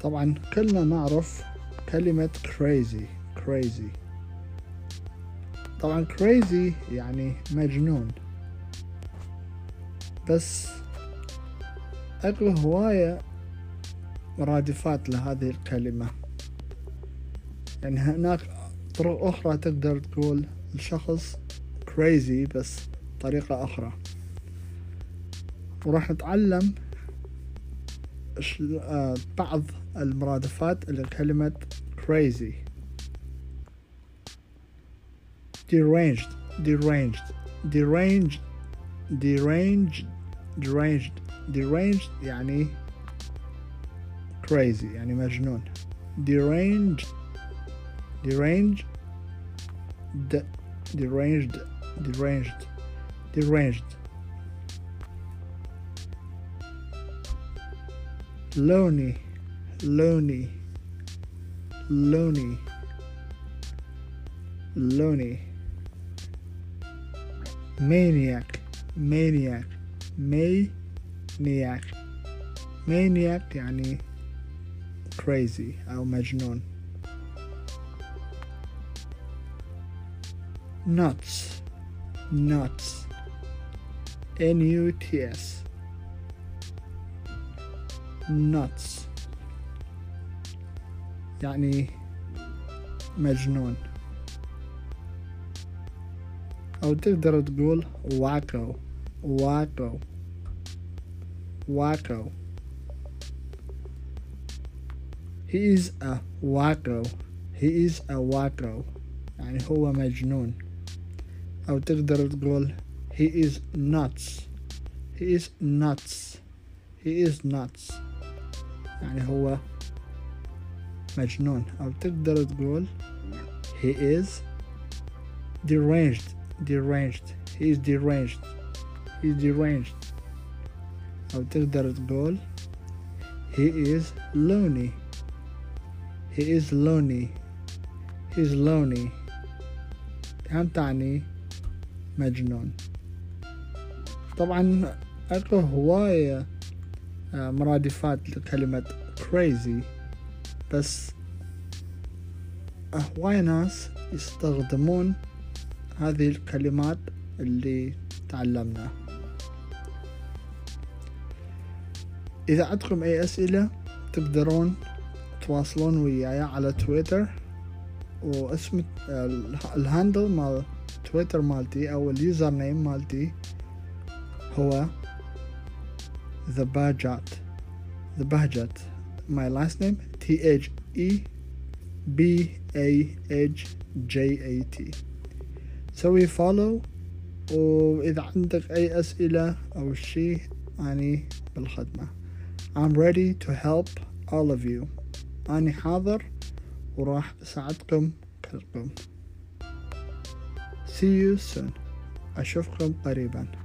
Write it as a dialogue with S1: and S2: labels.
S1: طبعا كلنا نعرف كلمة crazy. طبعا crazy يعني مجنون، بس أكو هواية مرادفات لهذه الكلمة. يعني هناك طرق أخرى تقدر تقول الشخص crazy بس طريقة أخرى، وراح نتعلم بعض المرادفات لكلمة crazy. deranged يعني crazy يعني مجنون. deranged lonely maniac يعني crazy أو مجنون. nuts nuts يعني مجنون، أو تقدر تقول wacko. He is a wacko يعني هو مجنون، أو تقدر تقول he is nuts يعني هو مجنون، أو تقدر تقول he is deranged أو تقدر تقول he is lonely هم تعني مجنون. طبعا أكو هواية مرادفات لكلمة crazy، بس هواية ناس يستخدمون هذه الكلمات اللي تعلمناها. إذا عندكم أي أسئلة تقدرون تواصلون وياي على تويتر، واسم الهاندل مال تويتر مالتي أو اليوزر نيم مالتي هو The Bahjat. My last name THEBAHJAT. سوي فولو، وإذا عندك أي أسئلة أو شيء أني بالخدمة. I'm ready to help all of you. أني حاضر وراح أساعدكم كلكم. See you soon. أشوفكم قريبا.